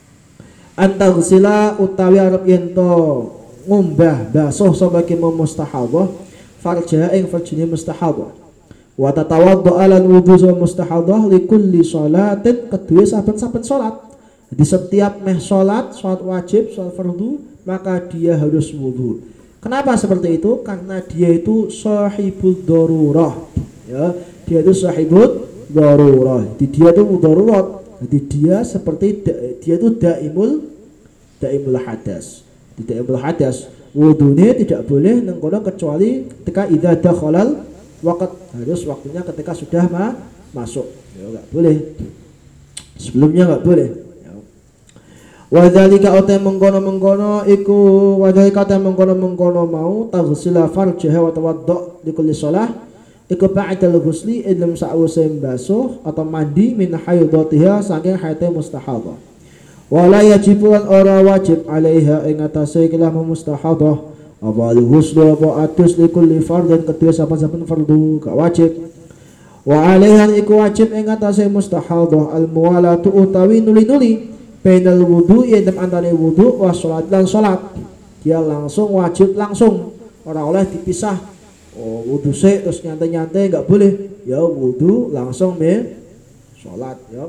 Antaghsila utawi arep yen to ngumbah basuh sapa ki mustahadhah farja ing farjine mustahadhah. Wa tatawaddu ala wudu mustahadhah li kulli sholatin kedue saben-saben salat. Di setiap salat wajib, salat fardu, maka dia harus wudu. Kenapa seperti itu? Karena dia itu sahibul darurah. Ya, dia itu sahibul darurah. Dia itu darurat. Jadi dia seperti dia itu daimul hadas. Tidak hadas. Wudunya tidak boleh nengkono kecuali ketika idza dakhalal waqt, harus waktunya ketika sudah masuk. Ya enggak boleh. Sebelumnya enggak boleh. Ya. Wa dzalika uta mengkono-mengkono iku wa dzalika uta mengkono-mengkono mau taghsila farjaha wa tawaddu li kulli shalah iku ba'dal ghusli ilm sa'use basuh atau mandi min haidatiha saking haite mustahadhah. Wala yajibu ora wajib alaiha ing atase ikilah mustahadhah apa al-ghuslu apa adus li kulli fardhin kedua saben-saben fardu gak wajib. Wa alaiha iku wajib ing atase mustahadhah al-muwalatu utawi nuli-nuli bainal wudu'i ing antane wudu wa salat lan salat. Dia langsung wajib langsung, ora oleh dipisah. Oh, wudu sik terus nyantai-nyantai gak boleh. Ya wudu langsung salat ya.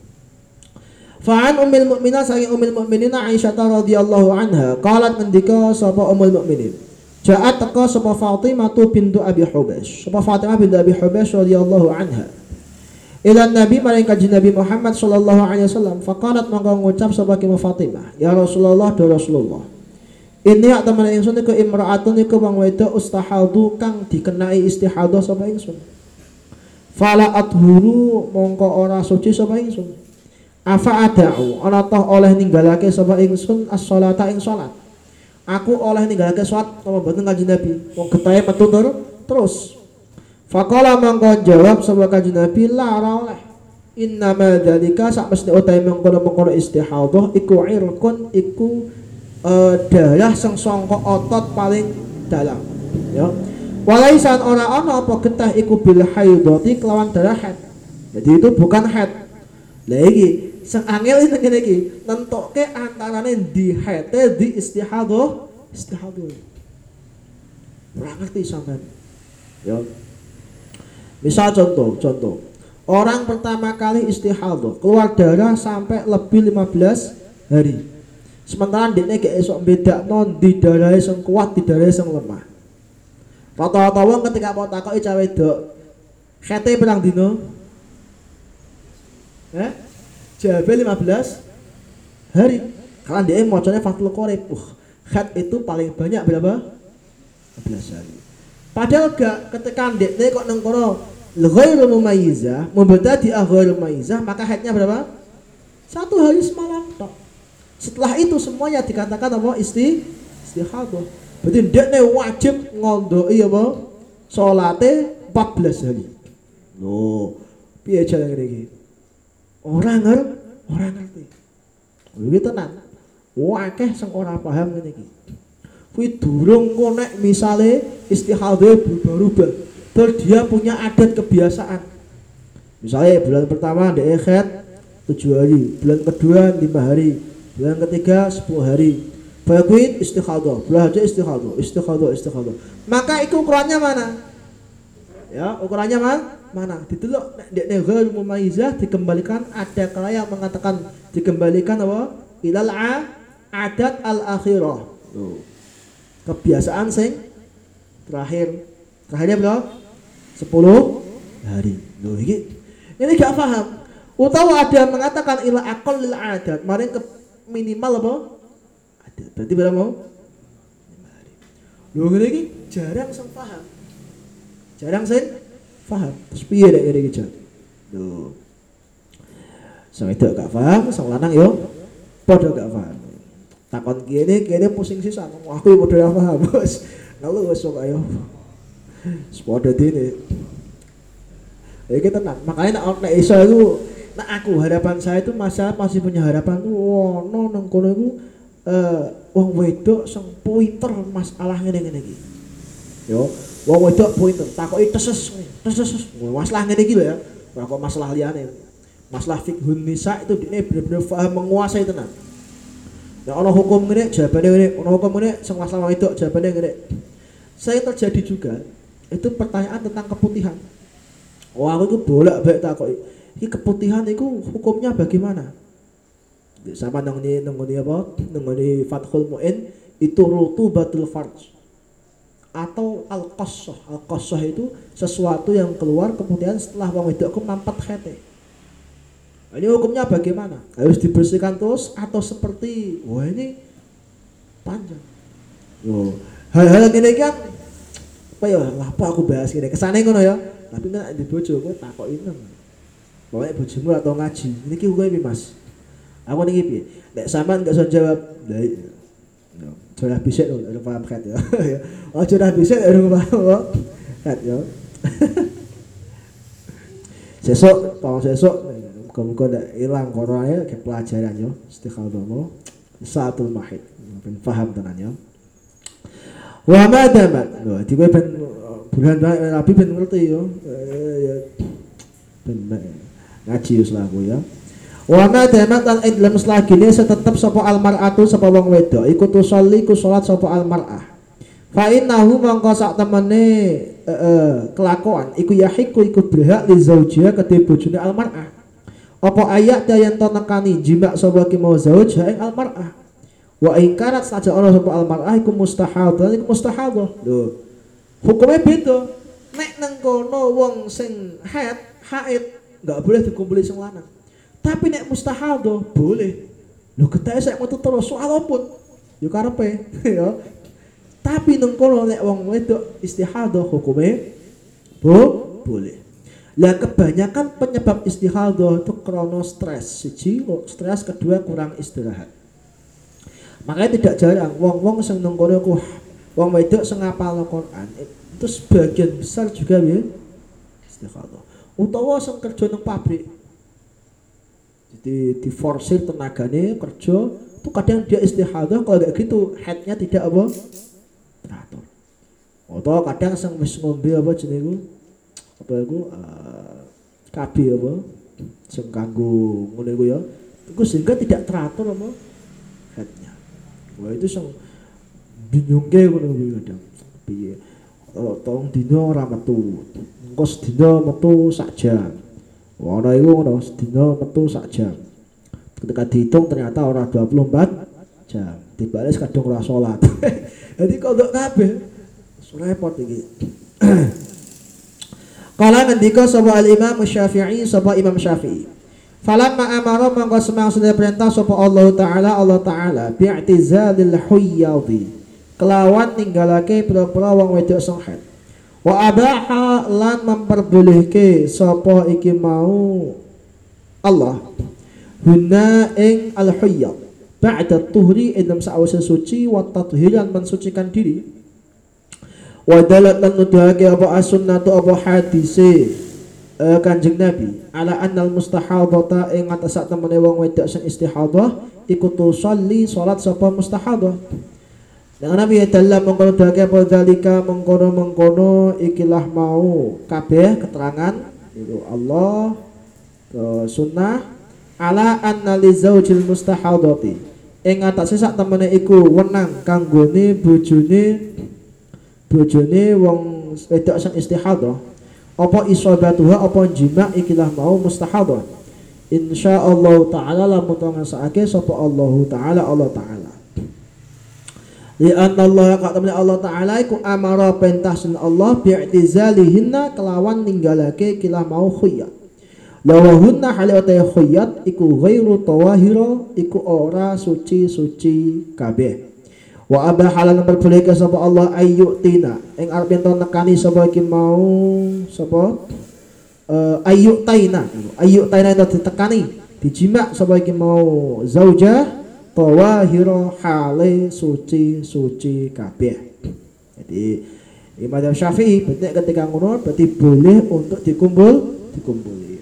Fa'an ummul mukminin saking ummul mukminin Aisyah radhiyallahu anha qalat ngendika sapa ummul mukminin ja'at teka sapa Fatimah bintu Abi Hubash sapa Fatimah bintu Abi Hubash radhiyallahu anha Ilan Nabi maring kanjeng Nabi Muhammad sallallahu alaihi wasallam faqalat mangko ngucap sapa ki Fatimah ya Rasulullah do Rasulullah ini ak temen ingsun iku imra'atun iku wong wedok ustahadu kang dikenai istihadah sapa ingsun fala athuru mongko ora suci sapa ingsun afa ada'u ana toh oleh ninggalake sapa ingsun as-sholata ing salat aku oleh ninggalake salat apa mboten kanjeng Nabi wong getahe metu terus faqala mangko jawab sapa kanjeng Nabi la ora oleh innama dzalika sak mesti utahe mengkono-mengkono istihadah iku irkun iku darah sing sangka otot paling dalam ya walaisan ora ana apa getah iku bil haidati kelawan darah haid jadi itu bukan haid lha iki sing angel ngene iki nentokke antarane di haid di istihadah ora ngerti sampean ya misal contoh orang pertama kali istihadah keluar darah sampai lebih 15 hari sementara dekne gak esok bedakno di darah sing kuat di darah sing lemah rata-rata wong ketika mau takoki cah wedok khete pirang dino jawabe 15 hari karena dia macane Fathul Qorib khat itu paling banyak berapa 15 hari padahal gak ketika dekne kok nang kono ghairu mumayyizah mubtadi ghairu mumayyizah maka haidnya berapa 1 hari semalam tok setelah itu semuanya dikatakan apa istihadah berarti dekne wajib ngondoki apa salate 14 hari lho piye cara ngene iki ora ngerti iki tenan akeh sing ora paham ngene iki kuwi durung kok nek misale istihadah berubah-ubah terus dia punya adat kebiasaan misalnya bulan pertama dia haid 7 hari bulan kedua 5 hari bulan ketiga 10 hari bakuin istihadah bulan haji istihadah maka itu ukurannya mana ya ukurannya mana ditelok nek dekne ghair mumayyizah dikembalikan ada kala yang mengatakan dikembalikan apa ilal adat al akhirah kebiasaan sing terakhirnya berapa 10 hari loh ini gak paham utawa ada mengatakan ila aqall lil adat maring ke minimal apa adat berarti berapa mau 5 hari loh ini jarang sing paham terus piye nek ngene iki jan loh sing wedok gak paham sing lanang yo padha gak paham takon kene pusing sisan aku yo padha paham bos lalu wis sok ayo sepodo dene iki tenan makanya nek iso iku nek aku harapan saya itu masih punya harapan tuh ono nang kono iku wong wedok sing pinter masalah ngene iki yo wong wedok pinter takoki teses masalah ngene iki lho ya ora kok masalah liyane masalah fiqhun nisa itu dene bener-bener paham menguasai tenan nek ana hukum ngene jawabane ngene ana hukum ngene sing masalah wedok jawabane ngene saya terjadi juga itu pertanyaan tentang keputihan aku itu bolak-balik takoki iki keputihan itu hukumnya bagaimana sama nangoni apa nangoni Fathul Mu'in itu rutubatul farj atau al-qassah itu sesuatu yang keluar keputihan setelah wong wedok mampat khete ini hukumnya bagaimana harus dibersihkan terus atau seperti wah ini panjang hal-hal ini kan apa ya apa aku bahas gini kesane ngono ya tapi nek di bojo kowe takoki nang pokoke bojomu atau ngaji niki hukume piye Mas aku niki piye nek sampean gak iso jawab lha yo sudah bisa lho ada paham kan ya oh sudah bisa ada paham kan ya sesuk muga-muga ndak ilang korone ke pelajaran yo istiqamah satul mahid ben paham tenan ya wa madamat lho di ben bulan Nabi ben ngerti yo ben ngaji wis laku ya wa madamat lan idlam selagine tetep sapa almar'atu sapa wong wedok iku tusolli ku salat sapa almar'ah fa innahu mangko sak temene kelakuan iku yahiku iku berhak li zaujiha kedhe bojone almar'ah apa ayat yen to nekani jima sapa ki mau zauj ing almar'ah wa ingkarat saja ana sapa almar'ah iku mustahadah hukumnya beda nek nang kono wong sing haid enggak boleh dikumpuli sing lanang. Tapi nek mustahadhah boleh. Lho ketake sak metu terus walaupun yo karepe ya. Tapi nang kono nek wong wedok istihadhah hukume boleh. Lah kebanyakan penyebab istihadhah itu krono stres. Siji, stres, kedua kurang istirahat. Makanya tidak jarang wong-wong sing nang kono ku wong wedok sing ngapal Al-Qur'an itu sebagian besar juga ya istihadhah. Utawa sing kerja nang pabrik. Jadi diforsir tenagane kerja itu kadang dia istihadhah, kalau kayak gitu headnya tidak apa teratur. Atau kadang sing wis ngombe apa jenenge apa iku KB apa sing kanggo ngene iku ya. Iku sehingga tidak teratur apa headnya. Wah itu sing binyungke ngono kuwi kadang. Piye? Tolong dino ora metu. Engko sedina metu sak jam. Wah ana iku ngono, sedina metu sak jam. Ketika dihitung ternyata ora 24 jam. Dibales kadung ora salat. Jadi kodok kabeh. Repot iki. Kala ngendika sapa al-Imam Syafi'i, sapa Imam Syafi'i. Falamma amara mangko semang sudah perintah sapa Allah Ta'ala bi'tizalil huyyadi. Kelawan ninggalake pira-pira wong wedok sing haid. Wa abaha lan memperbolehke sapa iki mau Allah hunna ing al-huyyad ba'da tuhri idam sa'wasa suci wa tathiran mensucikan diri. Wa dalat lan nuduhake apa as-sunnatu apa hadise Kanjeng Nabi ala annal mustahadhata ing atas sak temene wong wedok sing istihadhah iku tusolli salat sapa mustahadhah. Dengan Nabi dalam mengkono dake apa dalika mengkono ikilah mau kabeh keterangan itu Allah ke sunnah ala anna li zaujil mustahadhati ing atase sak temene iku wenang kanggone bojone wong wedok sing istihadhah apa isabatuha apa jima ikilah mau mustahadhah insyaallah taala lamun ngasake sapa Allah taala li anna Allah qatamna Allah taala iku amara perintah sun Allah bi'tizalihinna kelawan ninggalake kilah mau khiyat lawahunna halawata khiyat iku ghairu tawahira iku ora suci kabeh. Wa aba halal berboleh sapa Allah ayyutina ing arep ento nekani sapa iki mau sapa ayyutaina itu ditekani dijima sapa iki mau zaujah tawahira hale suci kabeh. Jadi Imam Syafi'i berarti ketika ngono berarti boleh untuk dikumpuli.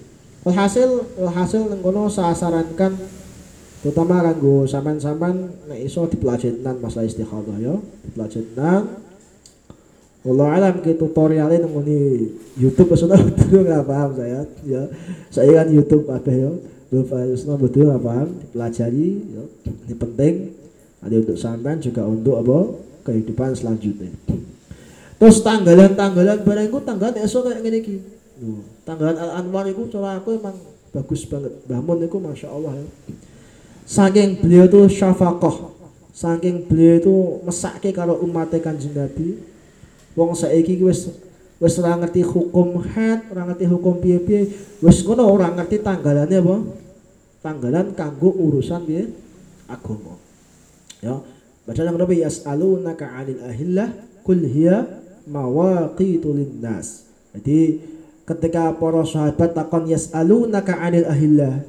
Hasil nang kono sasarankan terutama kanggo sampean-sampean nek iso dipelajaran masalah istikhadah ya, dipelajaran. Wallahu alam ke tutorialnya nang YouTube sudah betul enggak paham saya ya. Saya kan YouTube apa ya. Sudah betul enggak paham, dipelajari ya. Ini penting ada untuk sampean juga untuk apa? Kehidupan selanjutnya. Terus tanggalan barang iku tanggalan esuk kayak ngene iki. Tanggalan Al-Anwar iku cara aku emang bagus banget. Mbah Mun iku masyaallah ya. Saking beliau itu syafaqah, saking beliau itu mesake karo umatnya Kanjeng Nabi. Wong saiki wis ora ngerti hukum haid, ora ngerti hukum piye-piye, wis ngono ora ngerti tanggalane apa? Tanggalan kanggo urusan piye? Agama. Ya, baca nang Nabi yas'alunaka 'anil ahillah kul hiya mawaqitu linnas. Jadi ketika para sahabat takon yas'alunaka 'anil ahillah,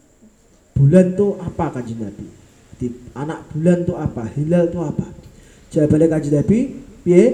bulan itu apa Kanjeng Nabi? Di anak bulan itu apa? Hilal itu apa? Jawabannya Kanjeng Nabi, piye?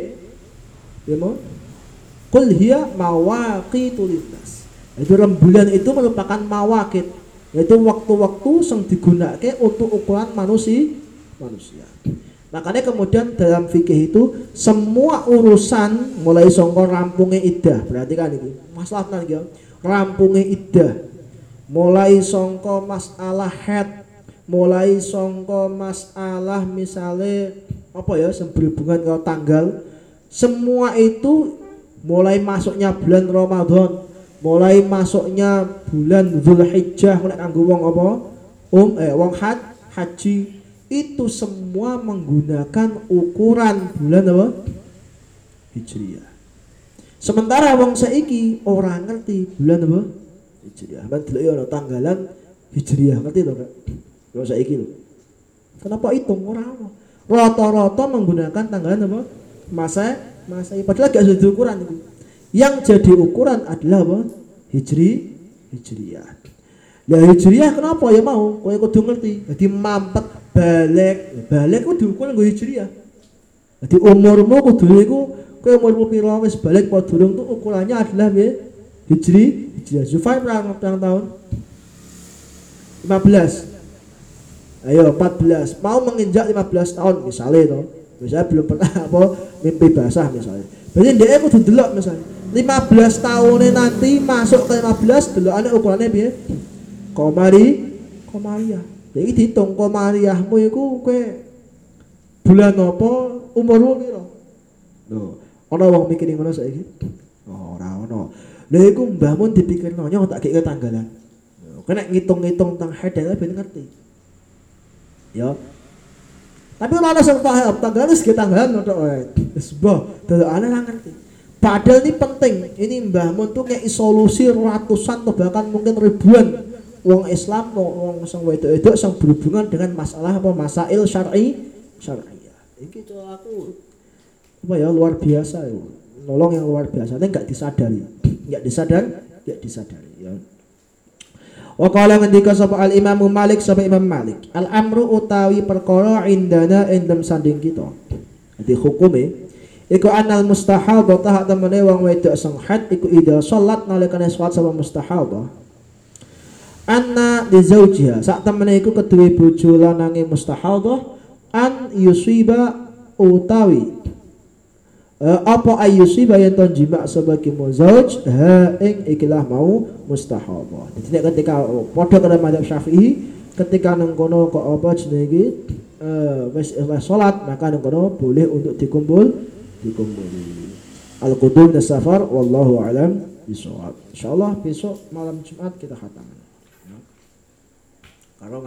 Ya mau? Qul hiya mawaqitu linnas. Itu rembulan itu merupakan mawaqit, yaitu waktu-waktu yang digunakan untuk ukuran manusia. Makanya kemudian dalam fikih itu semua urusan mulai sangka rampungnya iddah, berarti kan ini masalah nang rampungnya iddah. Mulai sangka masalah haid, mulai sangka masalah misalnya apa ya berhubungan dengan tanggal, semua itu mulai masuknya bulan Ramadan, mulai masuknya bulan Dzulhijjah mulai kanggo wong apa? Wong haji itu semua menggunakan ukuran bulan apa? Hijriah. Sementara wong saiki orang ngerti bulan apa? Hijriah. Man delok ana tanggalan Hijriah, ngerti to, Kak? Kalau saiki lho. Kenapa hitung ora ono? Rata-rata menggunakan tanggalan apa? Masehi. Padahal gak jadi ukuran itu. Yang jadi ukuran adalah apa? Hijriah. Lah Hijriah kenapa ya mau? Kowe kudu ngerti. Jadi mampet balik ku diukur nggo Hijriah. Jadi umurmu kudu iku kowe umurmu pira wis balik apa durung tuh ukurannya adalah piye? Hijriah. Zufar berapa tahun? 15. Ayo 14. Mau menginjak 15 tahun misalnya toh. Misalnya belum pernah apa mimpi basah misalnya. Berarti dia kudu delok misalnya 15 tahunnya nanti masuk ke 15 delokane ukurannya piye? Komariah. Jadi dihitung komariahmu iku kowe bulan apa umurmu piro? Lho, ana wong mikir ngono saiki? Oh, ora ono. Lha iku mbahmu dipikirno nyong tak kek tanggalan. Kena ngitung-ngitung tentang haid dan ben ngerti. Ya. Tapi ora ana sing paham tanggalan wis tanggalan tok wae. Wis boh, delokane ra ngerti. Padahal ini penting. Ini mbahmu tuh kayak solusi ratusan atau bahkan mungkin ribuan wong Islam, wong sing wedok-wedok sing berhubungan dengan masalah apa masail syar'iyah. Iki tuh aku apa ya luar biasa ya. Nolong yang luar biasa, ini enggak disadari. Enggak disadari ya. Wa qala ngendika sapa al Imam Malik sapa Imam Malik, al amru utawi perkara indana endem sanding kita. Dadi hukume iku anal mustahadhah ta temene wong wedok sing haid iku ida salat nalikane salat sapa mustahadhah. Anna li zaujiha sak temene iku keduwe bojo lanange mustahadhah an yusiba utawi apa ayusiba yen ton jima sebagai muzauj ha ing ikilah mau mustahadhah. Jadi nek ketika padha karo mazhab Syafi'i ketika nang kono kok apa jenenge wis salat maka nang kono boleh untuk dikumpuli. Al-qudum dan safar wallahu alam bisawab. Insyaallah besok malam Jumat kita khatam.